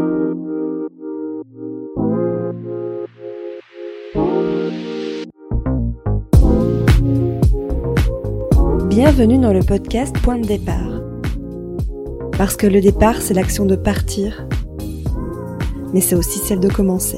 Bienvenue dans le podcast Point de départ. Parce que le départ, c'est l'action de partir, mais c'est aussi celle de commencer.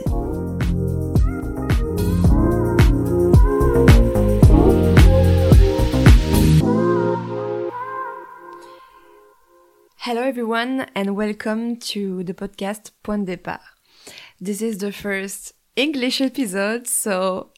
Hello everyone and welcome to the podcast Point de départ. This is the first English episode, so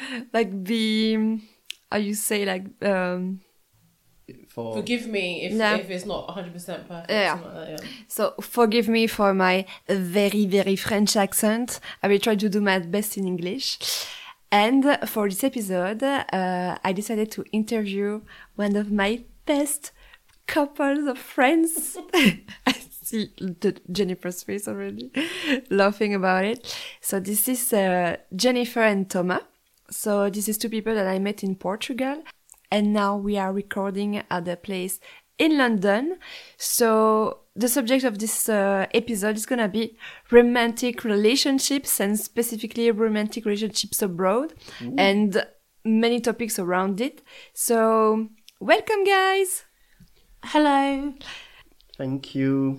Forgive me if it's not 100% perfect. Yeah. Like that, yeah. So forgive me for my very, very French accent. I will try to do my best in English. And for this episode, I decided to interview one of my best couples of friends. I see Jennifer's face already, laughing about it. So this is Jennifer and Thomas. So this is two people that I met in Portugal. And now we are recording at a place in London. So the subject of this episode is gonna be romantic relationships and specifically romantic relationships abroad. Ooh. And many topics around it. So welcome, guys. Hello. Thank you.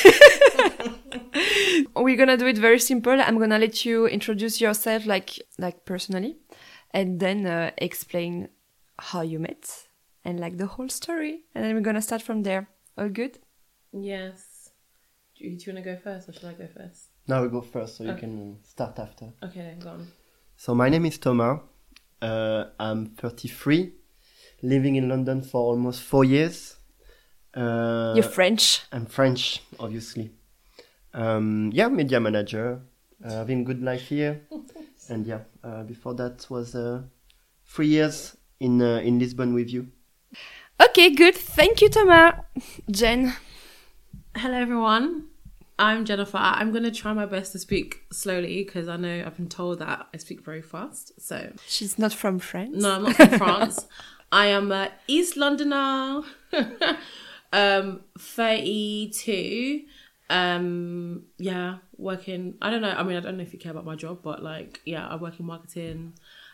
We're gonna do it very simple. I'm gonna let you introduce yourself like personally, and then explain how you met and like the whole story, and then we're gonna start from there. All good? Yes. Do you want to go first or should I go first? No, we go first, so you can start after. Okay, then go on. So my name is Thomas. I'm 33, living in London for almost 4 years. You're French. I'm French, obviously. Media manager, having good life here. And before that was 3 years in Lisbon with you. Okay, good. Thank you, Thomas. Jen. Hello, everyone. I'm Jennifer. I'm going to try my best to speak slowly because I know I've been told that I speak very fast. So she's not from France. No, I'm not from France. I am East Londoner. 32. Working. I don't know. I mean, I don't know if you care about my job, but I work in marketing.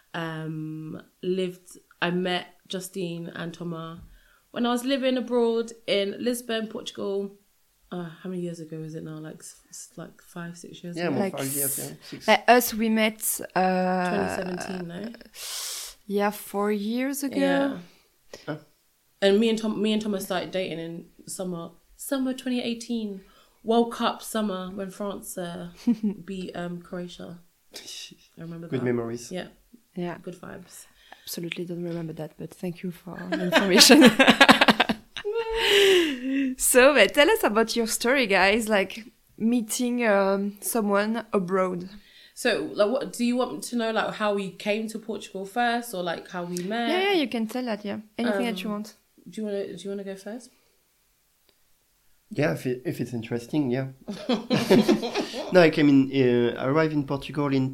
I met Justine and Thomas when I was living abroad in Lisbon, Portugal. How many years ago is it now? Like 5-6 years ago? Yeah, more 5 years, 6. Us, we met... 2017, no? Yeah, 4 years ago. Yeah. And me and Thomas started dating in summer 2018. World Cup summer when France beat Croatia. I remember that. Good memories. Yeah. Yeah. Good vibes. Absolutely don't remember that, but thank you for the information. So, tell us about your story, guys, like meeting someone abroad. So, what do you want to know, like how we came to Portugal first, or like how we met? Yeah, you can tell that. Yeah, anything that you want. Do you want to go first? Yeah, if it's interesting, yeah. No, I arrived in Portugal in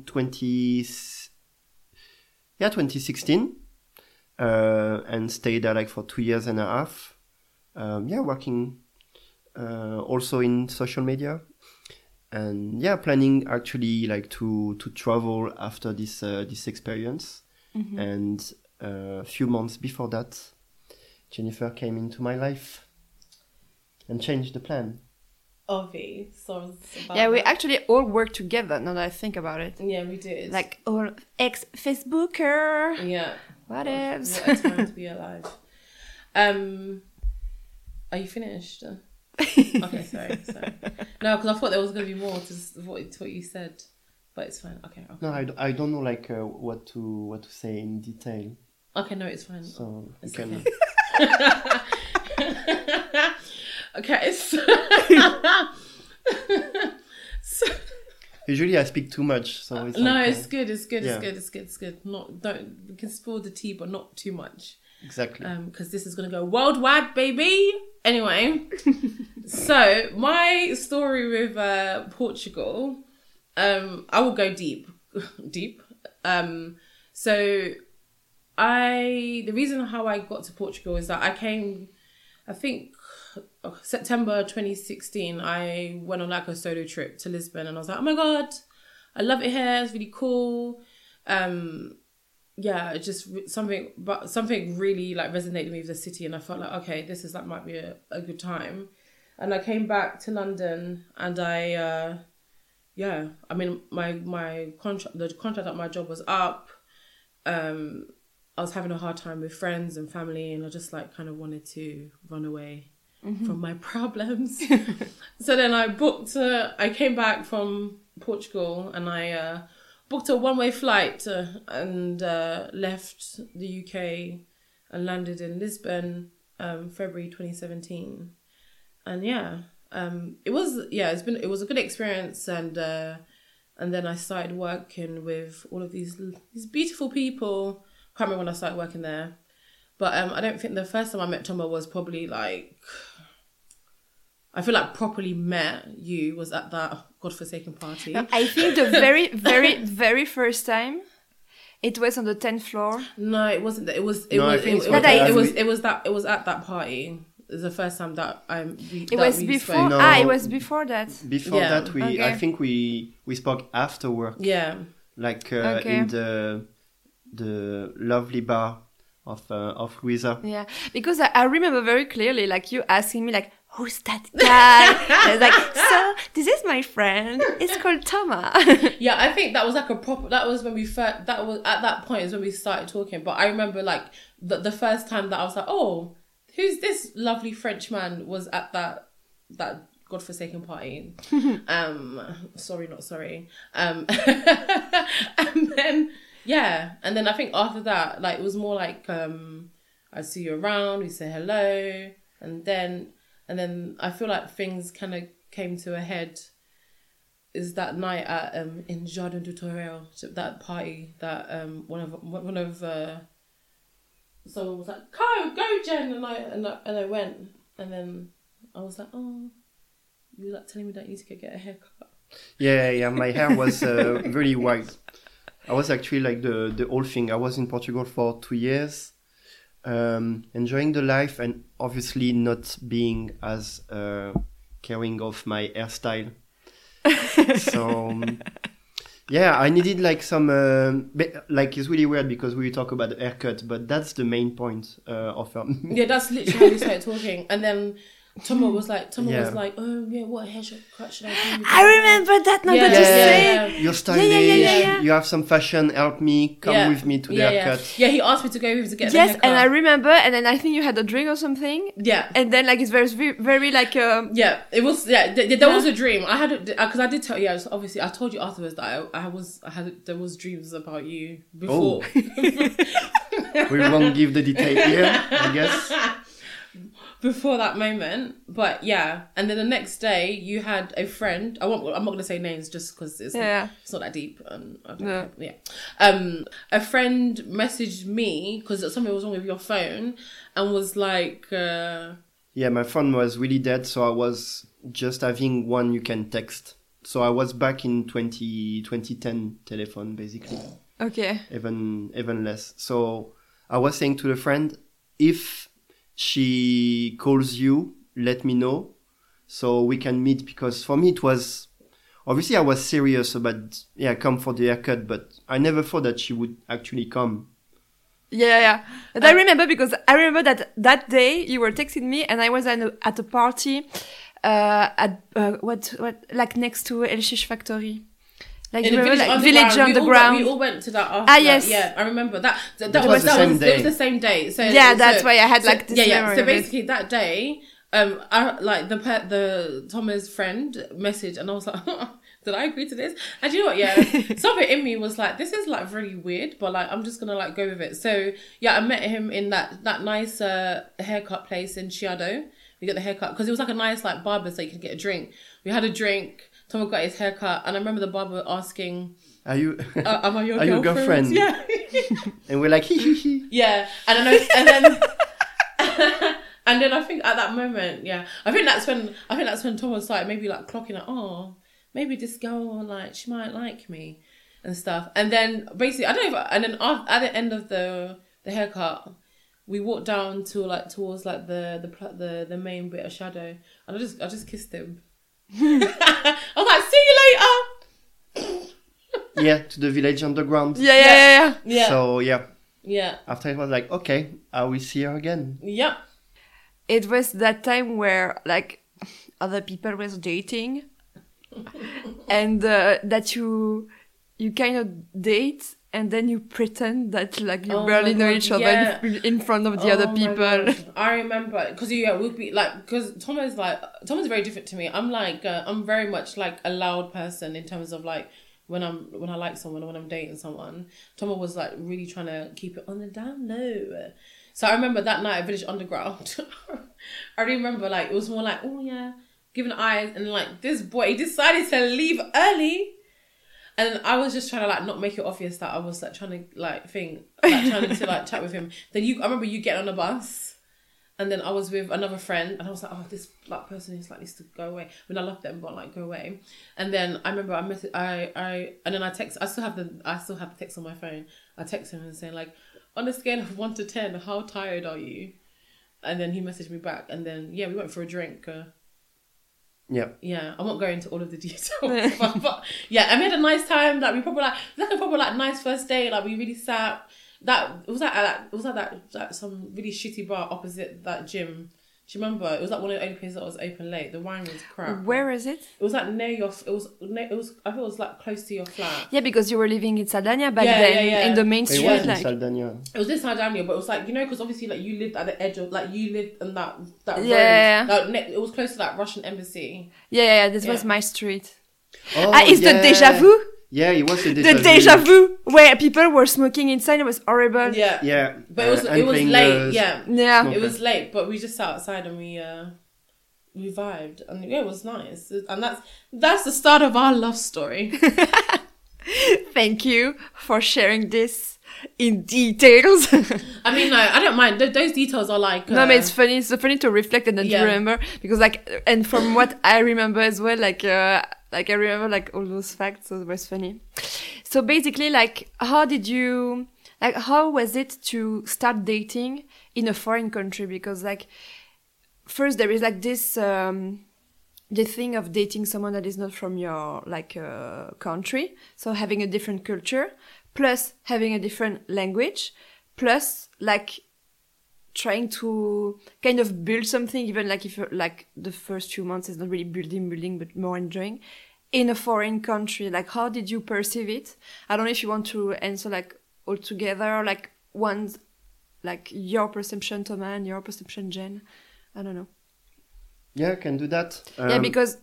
2016, and stayed there for 2 years and a half. Working also in social media, and planning actually to travel after this experience. Mm-hmm. And a few months before that, Jennifer came into my life and changed the plan. Obviously. We actually all worked together, now that I think about it. Yeah, we did. Like all ex-Facebooker. Yeah. What else? What a time to be alive. Are you finished? Okay, sorry. No, because I thought there was going to be more to what you said. But it's fine. Okay. No, I don't know what to say in detail. Okay, no, it's fine. So it's you can... Okay, so usually I speak too much, so it's it's good. It's good. Yeah. It's good. We can spill the tea, but not too much. Exactly. Because this is gonna go worldwide, baby. Anyway, so my story with Portugal, I will go deep. So the reason how I got to Portugal is that I came, I think September 2016, I went on like a solo trip to Lisbon, and I was like, oh my God, I love it here. It's really cool. Yeah, just something really like resonated with me with the city, and I felt like, okay, this is like might be a good time. And I came back to London, and I mean, my contract, the contract at my job was up. I was having a hard time with friends and family, and I just like kind of wanted to run away from my problems. So then I came back from Portugal, and I booked a one-way flight and left the UK and landed in Lisbon, February 2017. And it was a good experience, and then I started working with all of these beautiful people. Can't remember when I started working there, but I don't think the first time I met Toma was probably like, I feel like properly met you was at that godforsaken party. I think the very, very, very first time, it was on the 10th floor. No, it wasn't. It was at that party. It was the first time that it was before. No, it was before that. Before that, Okay. I think we spoke after work. Yeah. Like Okay. in the lovely bar of Louisa. Yeah, because I remember very clearly, like you asking me, like, who's that guy? I was like, so this is my friend. It's called Toma. Yeah, I think that was like that was when we first, that was at that point is when we started talking. But I remember like the first time that I was like, oh, who's this lovely French man was at that godforsaken party. Sorry, not sorry. And then, yeah. And then I think after that, like, it was more like, I'd see you around, we say hello. And then I feel like things kind of came to a head is that night at, in Jardin du Torreo, that party that, one of someone was like, go Jen, and I went, and then I was like, oh, you were like telling me that you need to go get a haircut. Yeah, my hair was really white. I was actually like the whole thing. I was in Portugal for 2 years, enjoying the life, and obviously not being as caring of my hairstyle. So yeah, I needed like some like, it's really weird because we talk about the haircut, but that's the main point of yeah, that's literally how we started talking. And then Toma was like, oh yeah, what haircut should I do? I remember that now that you say. You're stylish. You have some fashion. Help me. Come with me to the haircut. Yeah, he asked me to go with him to get the Yes, haircut. and I remember, and then I think you had a drink or something. Yeah. And then like it's very, very like. Yeah, it was. Yeah, there was a dream. I had because I did tell. Yeah, obviously I told you afterwards that there was dreams about you before. Oh. We won't give the detail here, I guess. Before that moment, but yeah, and then the next day you had a friend. I'm not going to say names just because it's not that deep. And I don't care. A friend messaged me because something was wrong with your phone, and was like, yeah, my phone was really dead, so I was just having one you can text. So I was back in 2010 telephone basically. Okay. Even less. So I was saying to the friend, if she calls you, let me know so we can meet, because for me it was, obviously I was serious about, come for the haircut, but I never thought that she would actually come. Yeah. And I remember because I remember that day you were texting me and I was at a party at what like next to El Shish Factory. Like, in the village underground. We all went to that after. Yes. Yeah, I remember that. That was the same day. So that's why I had like this memory. So basically that day, I like the Thomas friend message, and I was like, did I agree to this? And you know what? Yeah, something in me was like, this is like really weird, but like I'm just gonna like go with it. So yeah, I met him in that nice haircut place in Chiado. We got the haircut because it was like a nice like barber, so you could get a drink. We had a drink. Tom got his haircut, and I remember the barber asking, "Are you? Am I your girlfriend?" Yeah. And we're like, hee. Yeah, and then I think at that moment, I think that's when Tom was like maybe like clocking like, oh, maybe this girl like she might like me and stuff. And then basically I don't know. And then at the end of the haircut, we walked down to like towards like the main bit of Shadow, and I just kissed him. I was like, see you later. Yeah, to the village underground. Yeah. So Yeah. after it was like, okay, I will see her again. Yep. It was that time where like other people was dating, and that you kind of date. And then you pretend that like you barely know each other in front of the other people. Gosh. I remember because we'll be like, because Thomas very different to me. I'm like I'm very much like a loud person in terms of like when I like someone or when I'm dating someone. Thomas was like really trying to keep it on the down low. So I remember that night at Village Underground. I remember like it was more like, oh yeah, giving eyes, and like this boy decided to leave early. And I was just trying to like not make it obvious that I was like trying to like trying to like chat with him. Then I remember you getting on the bus, and then I was with another friend, and I was like, oh, this black person is like needs to go away. I mean, I love them, but like go away. And then I remember I still have the text on my phone. I text him and saying like, on a scale of 1 to 10, how tired are you? And then he messaged me back, and then we went for a drink. Yeah, I won't go into all of the details, but yeah, and we had a nice time. Like we probably nice first day. Like we really sat. That was at some really shitty bar opposite that gym. Do you remember? It was like one of the only places that was open late. The wine was crap. Where is it? It was like near your. It was. I thought it was like close to your flat. Yeah, because you were living in Saldana back then, in the main street. It was like. in Saldana. It was in Saldana, but it was like, you know, because obviously like you lived at the edge of you lived in that road. Like, it was close to that Russian embassy. Yeah. This was my street. Oh, it's the Deja Vu. Yeah, it was the Deja Vu where people were smoking inside. It was horrible. Yeah. But it was late. Yeah. It was late, but we just sat outside and we vibed, and it was nice. And that's the start of our love story. Thank you for sharing this in details. I mean, no, I don't mind. Those details are like no, but it's funny. It's funny to reflect and then to remember, because like, and from what I remember as well, like I remember like all those facts, so it was funny. So basically, like, how was it to start dating in a foreign country? Because like, first there is like this, the thing of dating someone that is not from your like country, so having a different culture, plus having a different language, plus like trying to kind of build something, even like if like the first few months is not really building, but more enjoying in a foreign country. Like, how did you perceive it? I don't know if you want to answer like all together, like one's like your perception, Thomas, and your perception, Jen. I don't know. Yeah, I can do that. Yeah, because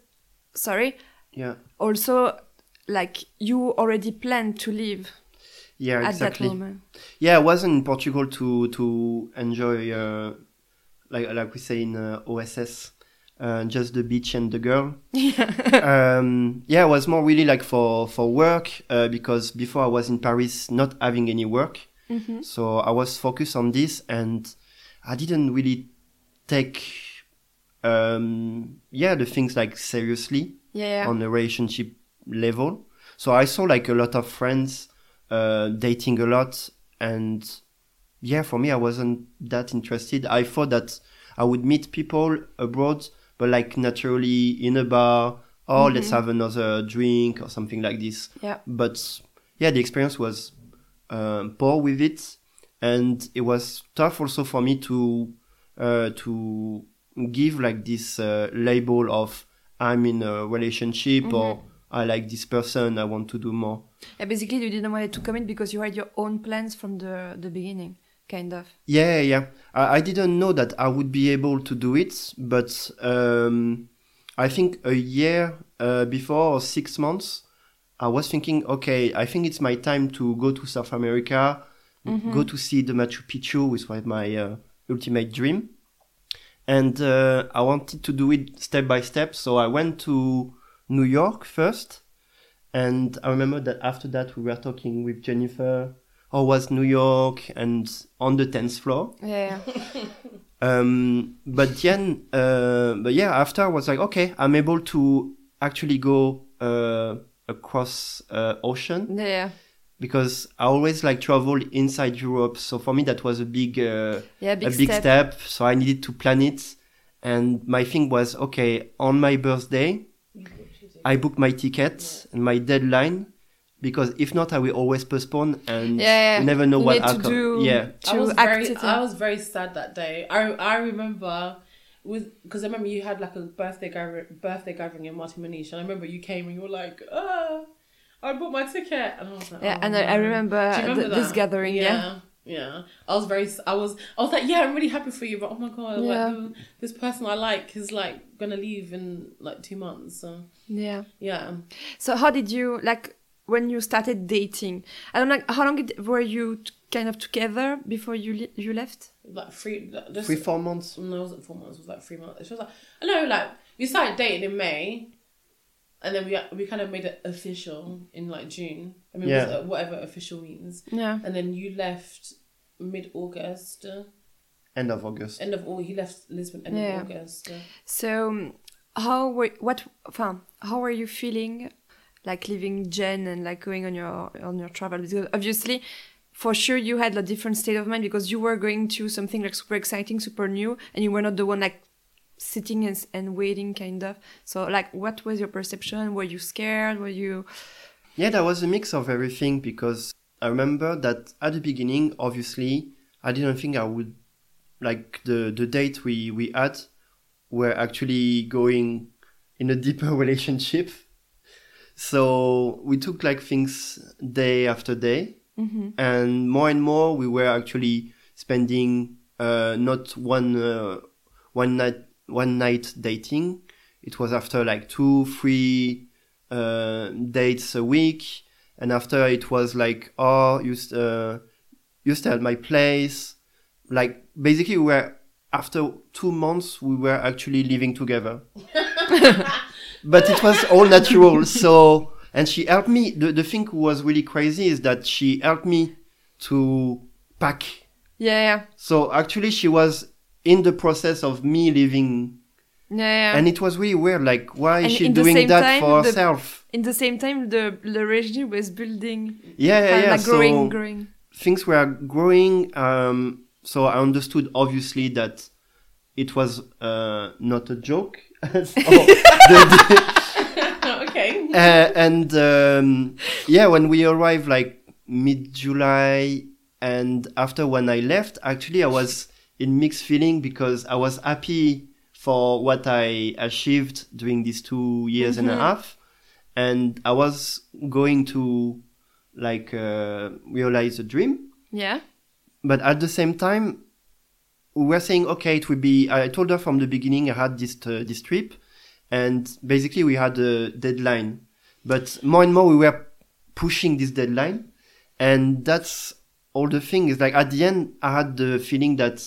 also like you already planned to leave. Yeah, exactly. At that moment. Yeah, I was in Portugal to enjoy, like we say in OSS, just the beach and the girl. It was more really like for work, because before I was in Paris not having any work. Mm-hmm. So I was focused on this, and I didn't really take the things like seriously on the relationship level. So I saw like a lot of friends dating a lot, and for me I wasn't that interested. I thought that I would meet people abroad, but like naturally in a bar, let's have another drink or something like this. But the experience was poor with it, and it was tough also for me to give like this label of I'm in a relationship or I like this person, I want to do more. Yeah, basically you didn't want to commit because you had your own plans from the beginning, kind of. Yeah. I didn't know that I would be able to do it, but I think a year before, or 6 months, I was thinking, okay, I think it's my time to go to South America, go to see the Machu Picchu, which was my ultimate dream. And I wanted to do it step by step, so I went to New York first, and I remember that after that we were talking with Jennifer, how was New York, and on the 10th floor. But after I was like, okay, I'm able to actually go across ocean. because I always like travel inside Europe. So for me, that was a big big step. So I needed to plan it. And my thing was, okay, on my birthday, I booked my ticket and my deadline, because if not, I will always postpone and you never know what will come. Yeah. I was very sad that day. I remember, because I remember you had like a birthday gathering in Martin Manish, and I remember you came and you were like, I bought my ticket, and I was like, I remember this gathering. Yeah. I was like, yeah, I'm really happy for you, but oh my god, like this person I like is like gonna leave in like 2 months. So yeah. So how did you, like, when you started dating? I don't know, how long were you kind of together before you left? Like 4 months. No, it wasn't 4 months. It was like 3 months. It was like, I know, like we started dating in May. And then we kind of made it official in like June. I mean, whatever official means. Yeah. And then you left mid-August. End of August. He left Lisbon end of August. So, how were you feeling, like leaving Jen and like going on your travel? Because obviously, for sure, you had a different state of mind because you were going to something like super exciting, super new, and you were not the one like sitting and waiting, kind of. So like, what was your perception? Were you scared? Were you... Yeah, that was a mix of everything, because I remember that at the beginning, obviously, I didn't think I would, like, the date we had were actually going in a deeper relationship. So we took like things day after day, and more we were actually spending not one night dating. It was after like 2-3 dates a week, and after it was like, you stay at my place. Like basically after 2 months we were actually living together. But it was all natural. So, and she helped me. The thing was really crazy is that she helped me to pack. Yeah. So actually she was in the process of me leaving. Yeah. And it was really weird. Like, why is she doing that for herself? In the same time, the relationship was building. Yeah. Like growing. Things were growing. So I understood, obviously, that it was not a joke. Okay. And when we arrived, like mid-July, and after when I left, actually I was in mixed feeling, because I was happy for what I achieved during these 2 years and a half, and I was going to like realize a dream. Yeah. But at the same time, we were saying, okay, it would be. I told her from the beginning I had this trip, and basically we had a deadline. But more and more we were pushing this deadline, and that's all the thing. Is like at the end I had the feeling that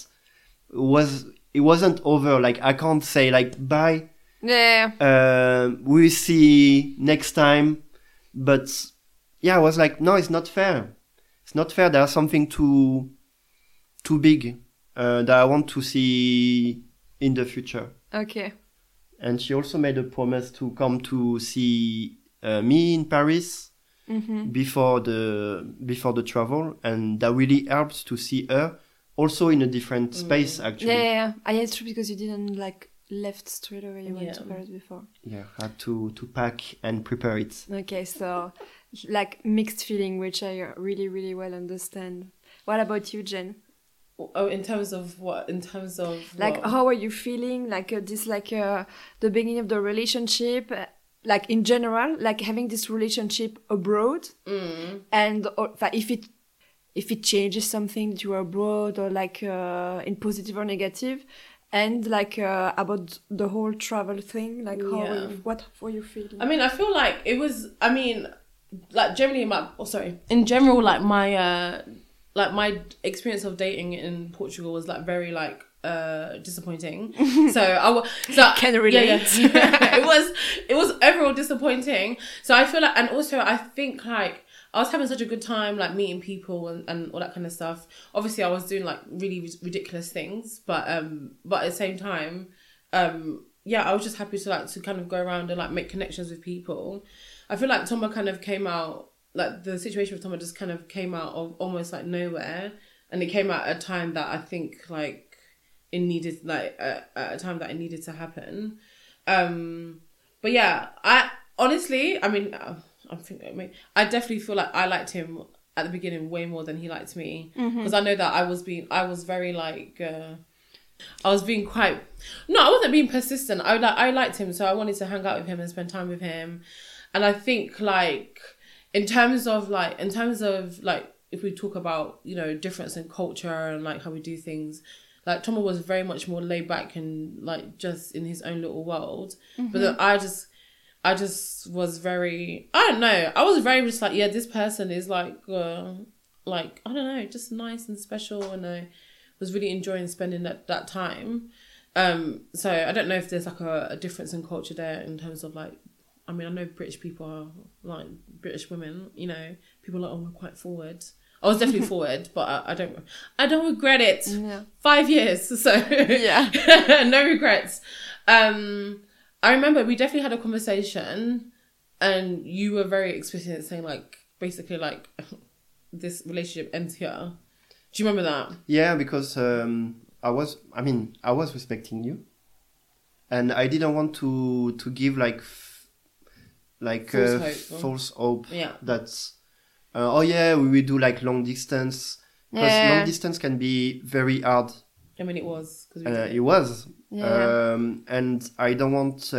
it wasn't over. Like I can't say like bye. Yeah. We'll see next time. But yeah, I was like, no, it's not fair. It's not fair. There's something too big that I want to see in the future. Okay. And she also made a promise to come to see me in Paris before the travel, and that really helps to see her also in a different space, actually. Yeah. It's true, because you didn't like left straight away. You went to Paris before. Yeah, had to pack and prepare it. Okay, so like mixed feeling, which I really, really well understand. What about you, Jen? Oh, in terms of what? In terms of like, what? how are you feeling? Like the beginning of the relationship, like in general, like having this relationship abroad, and if it changes something that you are abroad, or like in positive or negative, and like about the whole travel thing, like what were you feeling? I mean, I feel like it was. I mean, like generally in general, like my experience of dating in Portugal was like very like disappointing. So can relate. Yeah. it was overall disappointing. So I feel like, and also I think like I was having such a good time, like meeting people and all that kind of stuff. Obviously I was doing like really ridiculous things, but at the same time, I was just happy to kind of go around and like make connections with people. I feel like Thomas kind of came out like the situation with Thomas just kind of came out of almost like nowhere, and it came out at a time that I think like it needed like at a time that it needed to happen. But yeah, I honestly, I mean, I definitely feel like I liked him at the beginning way more than he liked me, because I know that I was being quite, no, I wasn't being persistent. I liked him, so I wanted to hang out with him and spend time with him. And I think like in terms of like if we talk about, you know, difference in culture and like how we do things, like Tomo was very much more laid back and like just in his own little world. But then I just was very, I don't know, I was very just like, yeah, this person is like I don't know, just nice and special, and I was really enjoying spending that time. So I don't know if there's like a difference in culture there in terms of like, I mean, I know British people are like British women, you know, people are we're quite forward. I was definitely forward, but I don't regret it. Yeah. 5 years, so Yeah. no regrets. I remember we definitely had a conversation, and you were very explicit saying like basically like this relationship ends here. Do you remember that? Yeah, because I was respecting you, and I didn't want to give like false hope. Yeah. That's oh yeah, we will do like long distance, because long distance can be very hard. I mean, it was because It was. Yeah. And I don't want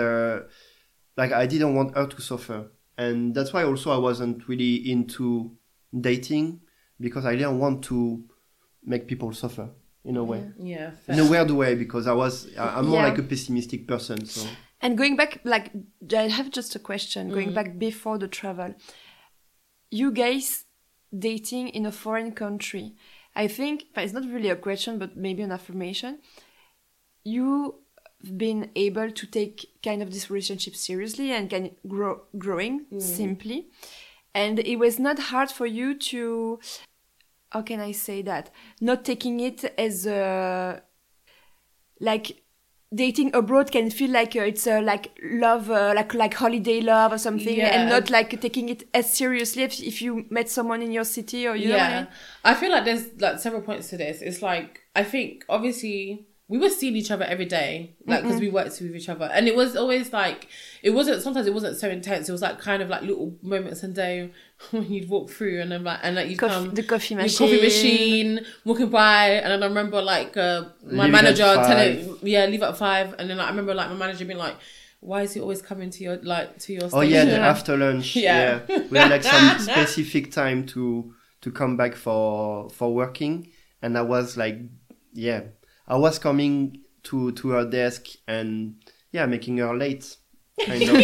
I didn't want her to suffer, and that's why also I wasn't really into dating, because I didn't want to make people suffer in a way. Yeah, In a weird way, because I'm more like a pessimistic person. So And going back, like, I have just a question. Going back before the travel, you guys dating in a foreign country. I think, but it's not really a question, but maybe an affirmation. You've been able to take kind of this relationship seriously and can growing simply. And it was not hard for you to, how can I say that? Not taking it as a, like, dating abroad can feel like it's like love, like holiday love or something, and not like taking it as seriously if you met someone in your city, or you know what I mean? I feel like there's like several points to this. It's like, I think obviously we were seeing each other every day, like, because we worked with each other, and it was always like, sometimes it wasn't so intense. It was like kind of like little moments in the day when you'd walk through, and then like you'd come the coffee your machine, walking by, and then I remember like my Leave manager at 5. telling leave at 5, and then like, I remember like my manager being like, why is he always coming to your station? oh yeah, the after lunch. Yeah. We had like some specific time to come back for working, and I was like, I was coming to her desk and making her late. Kind of.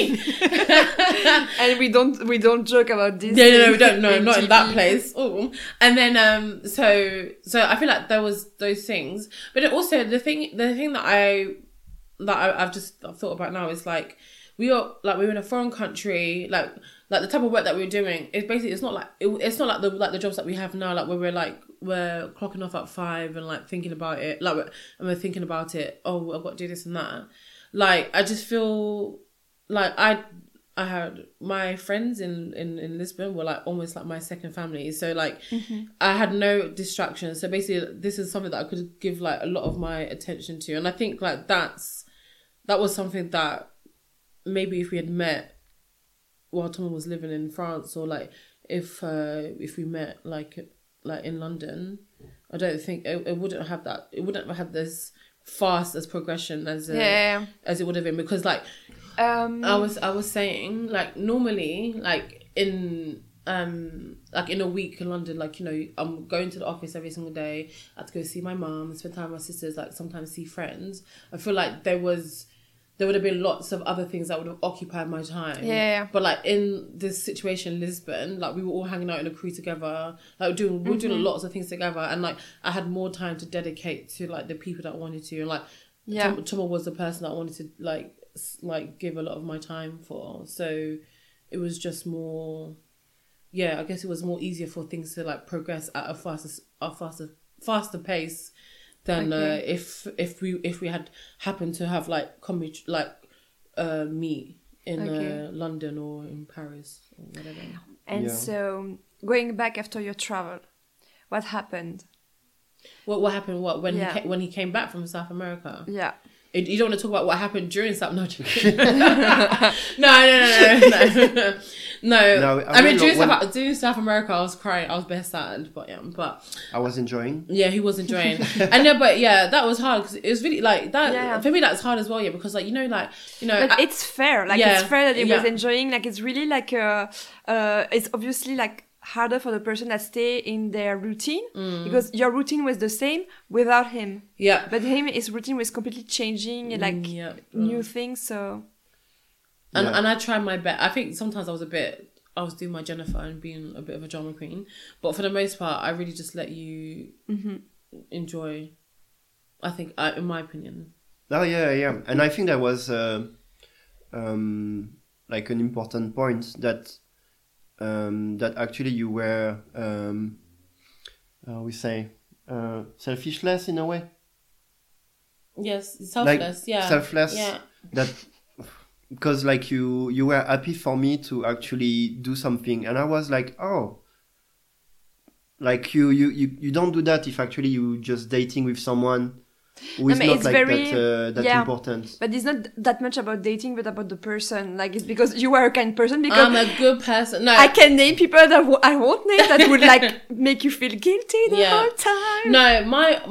and we don't joke about this. No, we don't. No, not in that place. Oh, and then so I feel like there was those things, but it also the thing that I've just thought about now is like we were in a foreign country, like the type of work that we were doing. It's not like the jobs that we have now, like where we're clocking off at 5 and like thinking about it, and we're thinking about it. Oh, I've got to do this and that. Like I just feel like I had my friends in Lisbon were like almost like my second family. So like I had no distractions. So basically, this is something that I could give like a lot of my attention to, and I think like that was something that maybe if we had met while Tom was living in France, or like if we met like in London, I don't think it wouldn't have that. It wouldn't have had this fast as progression as it would have been, because like I was saying, like normally like in a week in London, like, you know, I'm going to the office every single day. I have to go see my mum, spend time with my sisters, like sometimes see friends. I feel like there would have been lots of other things that would have occupied my time. Yeah. But like in this situation in Lisbon, like we were all hanging out in a crew together, like we were doing lots of things together, and like I had more time to dedicate to like the people that I wanted to, and like Tomo was the person that I wanted to like give a lot of my time for. So it was just more, I guess it was more easier for things to like progress at a faster pace than if we had happened to have like meet in London or in Paris or whatever. And so, going back after your travel, what happened? What happened? When he came back from South America? Yeah. You don't want to talk about what happened during South America? No. No, I mean, during South America, I was crying. I was best sad, but I was enjoying. Yeah, he was enjoying. And then, but yeah, that was hard because it was really like that. Yeah. For me, that's hard as well. Yeah, because like But it's fair. Like it's fair that he was enjoying. Like it's really like it's obviously like harder for the person that stay in their routine because your routine was the same without him. Yeah. But his routine was completely changing, like new things. So. And I tried my best. I think sometimes I was doing my Jennifer and being a bit of a drama queen. But for the most part, I really just let you enjoy, I think, in my opinion. Oh, yeah. And I think that was like an important point that actually you were, we say, selfishless in a way. Yes, selfless, Selfless. Yeah. That... Because like you were happy for me to actually do something, and I was like, oh, like you don't do that if actually you just dating with someone who is not like that important. But it's not that much about dating, but about the person. Like it's because you are a kind person. Because I'm a good person. No, I can name people that I won't name that would like make you feel guilty the whole time. No,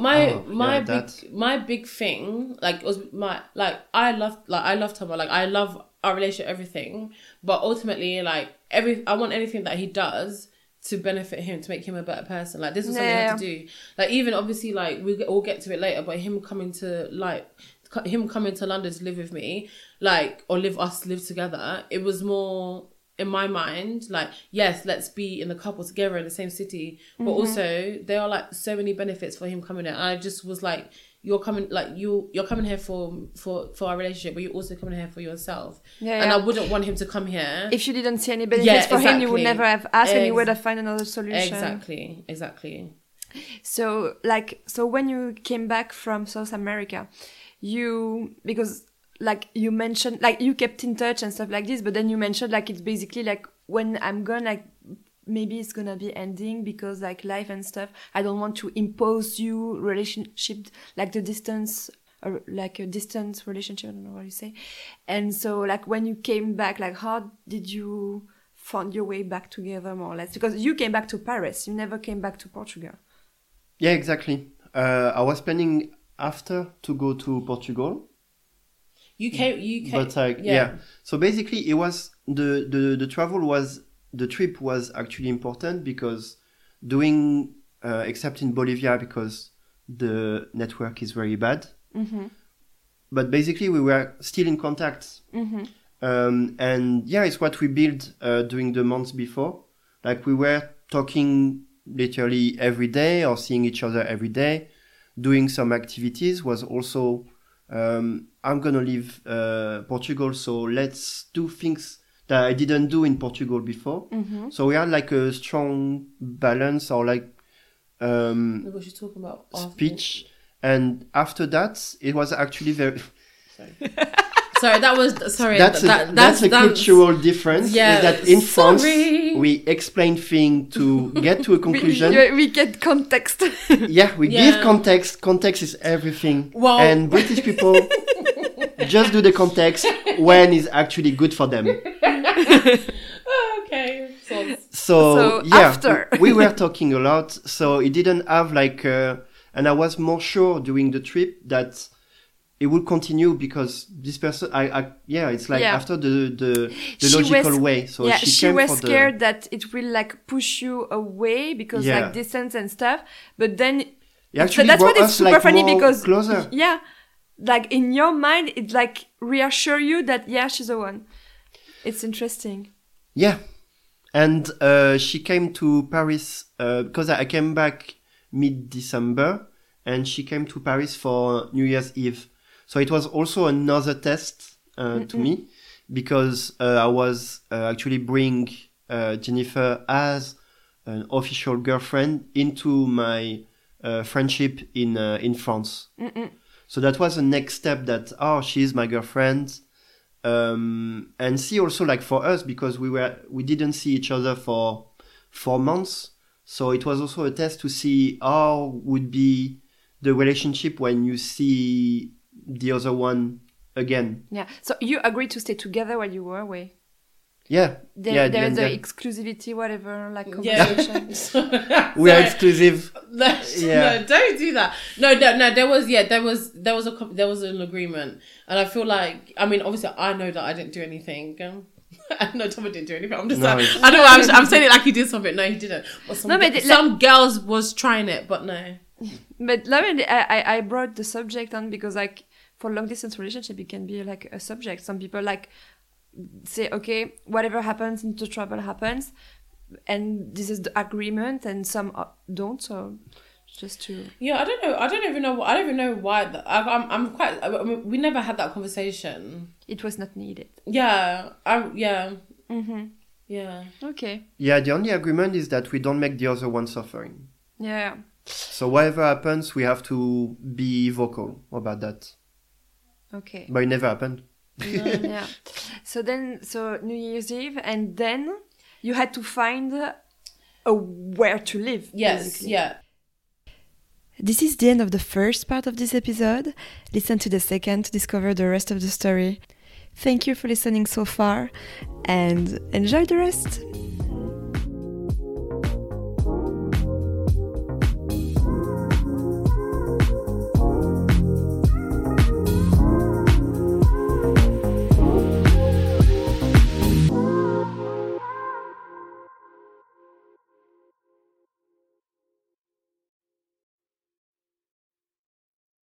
my big thing was I love Thomas. Like I love our relationship, everything. But ultimately, like I want anything that he does to benefit him, to make him a better person. Like this was something I had to do. Like even obviously, like we'll get to it later, but him coming to London to live with me, like or live together. It was more in my mind, like yes, let's be in the couple together in the same city, but also there are like so many benefits for him coming in. And I just was like, you're coming here for our relationship, but you're also coming here for yourself. And I wouldn't want him to come here if you didn't see any benefits for him. You would never have asked, and you would have found another solution. Exactly. So when you came back from South America, because like you mentioned, like you kept in touch and stuff like this, but then you mentioned like it's basically like when I'm gone, like maybe it's gonna be ending because like life and stuff. I don't want to impose you relationship, like the distance, or like a distance relationship. I don't know what you say. And so like when you came back, like how did you find your way back together more or less? Because you came back to Paris, you never came back to Portugal. Yeah, exactly. I was planning after to go to Portugal. You came. But like so basically it was the trip was actually important because except in Bolivia because the network is very bad. But basically we were still in contact. And it's what we built during the months before. Like we were talking literally every day or seeing each other every day, doing some activities. Was also I'm gonna leave Portugal, so let's do things that I didn't do in Portugal before. So we had like a strong balance, or like what you talking about speech. And after that, it was actually very. Sorry, that was sorry. That's a cultural difference. Yeah, is that in France we explain things to get to a conclusion. we get context. We give context. Context is everything. Wow. And British people just do the context when it's actually good for them. Okay. So after we were talking a lot. So it didn't have like, and I was more sure during the trip that it will continue because this person, it's like after the logical way. So she was scared that it will like push you away because like distance and stuff. But then that's what is super funny because closer. Like in your mind, it like reassure you that she's the one. It's interesting. Yeah, and she came to Paris because I came back mid-December, and she came to Paris for New Year's Eve. So it was also another test to me because I was actually bring Jennifer as an official girlfriend into my friendship in France. So that was the next step that, she's my girlfriend. and see also like for us, because we didn't see each other for 4 months, so it was also a test to see how would be the relationship when you see the other one again. Yeah. So you agreed to stay together while you were away. Yeah. There's the exclusivity, whatever, like conversation. We are exclusive. No, don't do that. No. There was an agreement, and I feel like, I mean, obviously, I know that I didn't do anything. No, Thomas didn't do anything. I'm just I know I'm saying it like he did something. No, he didn't. But some girls was trying it, but no. But I brought the subject on because, like, for long distance relationship, it can be like a subject. Some people like say, okay, whatever happens into trouble happens, and this is the agreement, and some don't. So just to I don't even know why. We never had that conversation. It was not needed. Yeah. Mm-hmm. Yeah. Okay. Yeah, the only agreement is that we don't make the other one suffering. Yeah. So whatever happens, we have to be vocal about that. Okay. But it never happened. Yeah. So New Year's Eve, and then you had to find where to live. Yes. Basically. Yeah. This is the end of the first part of this episode. Listen to the second to discover the rest of the story. Thank you for listening so far, and enjoy the rest.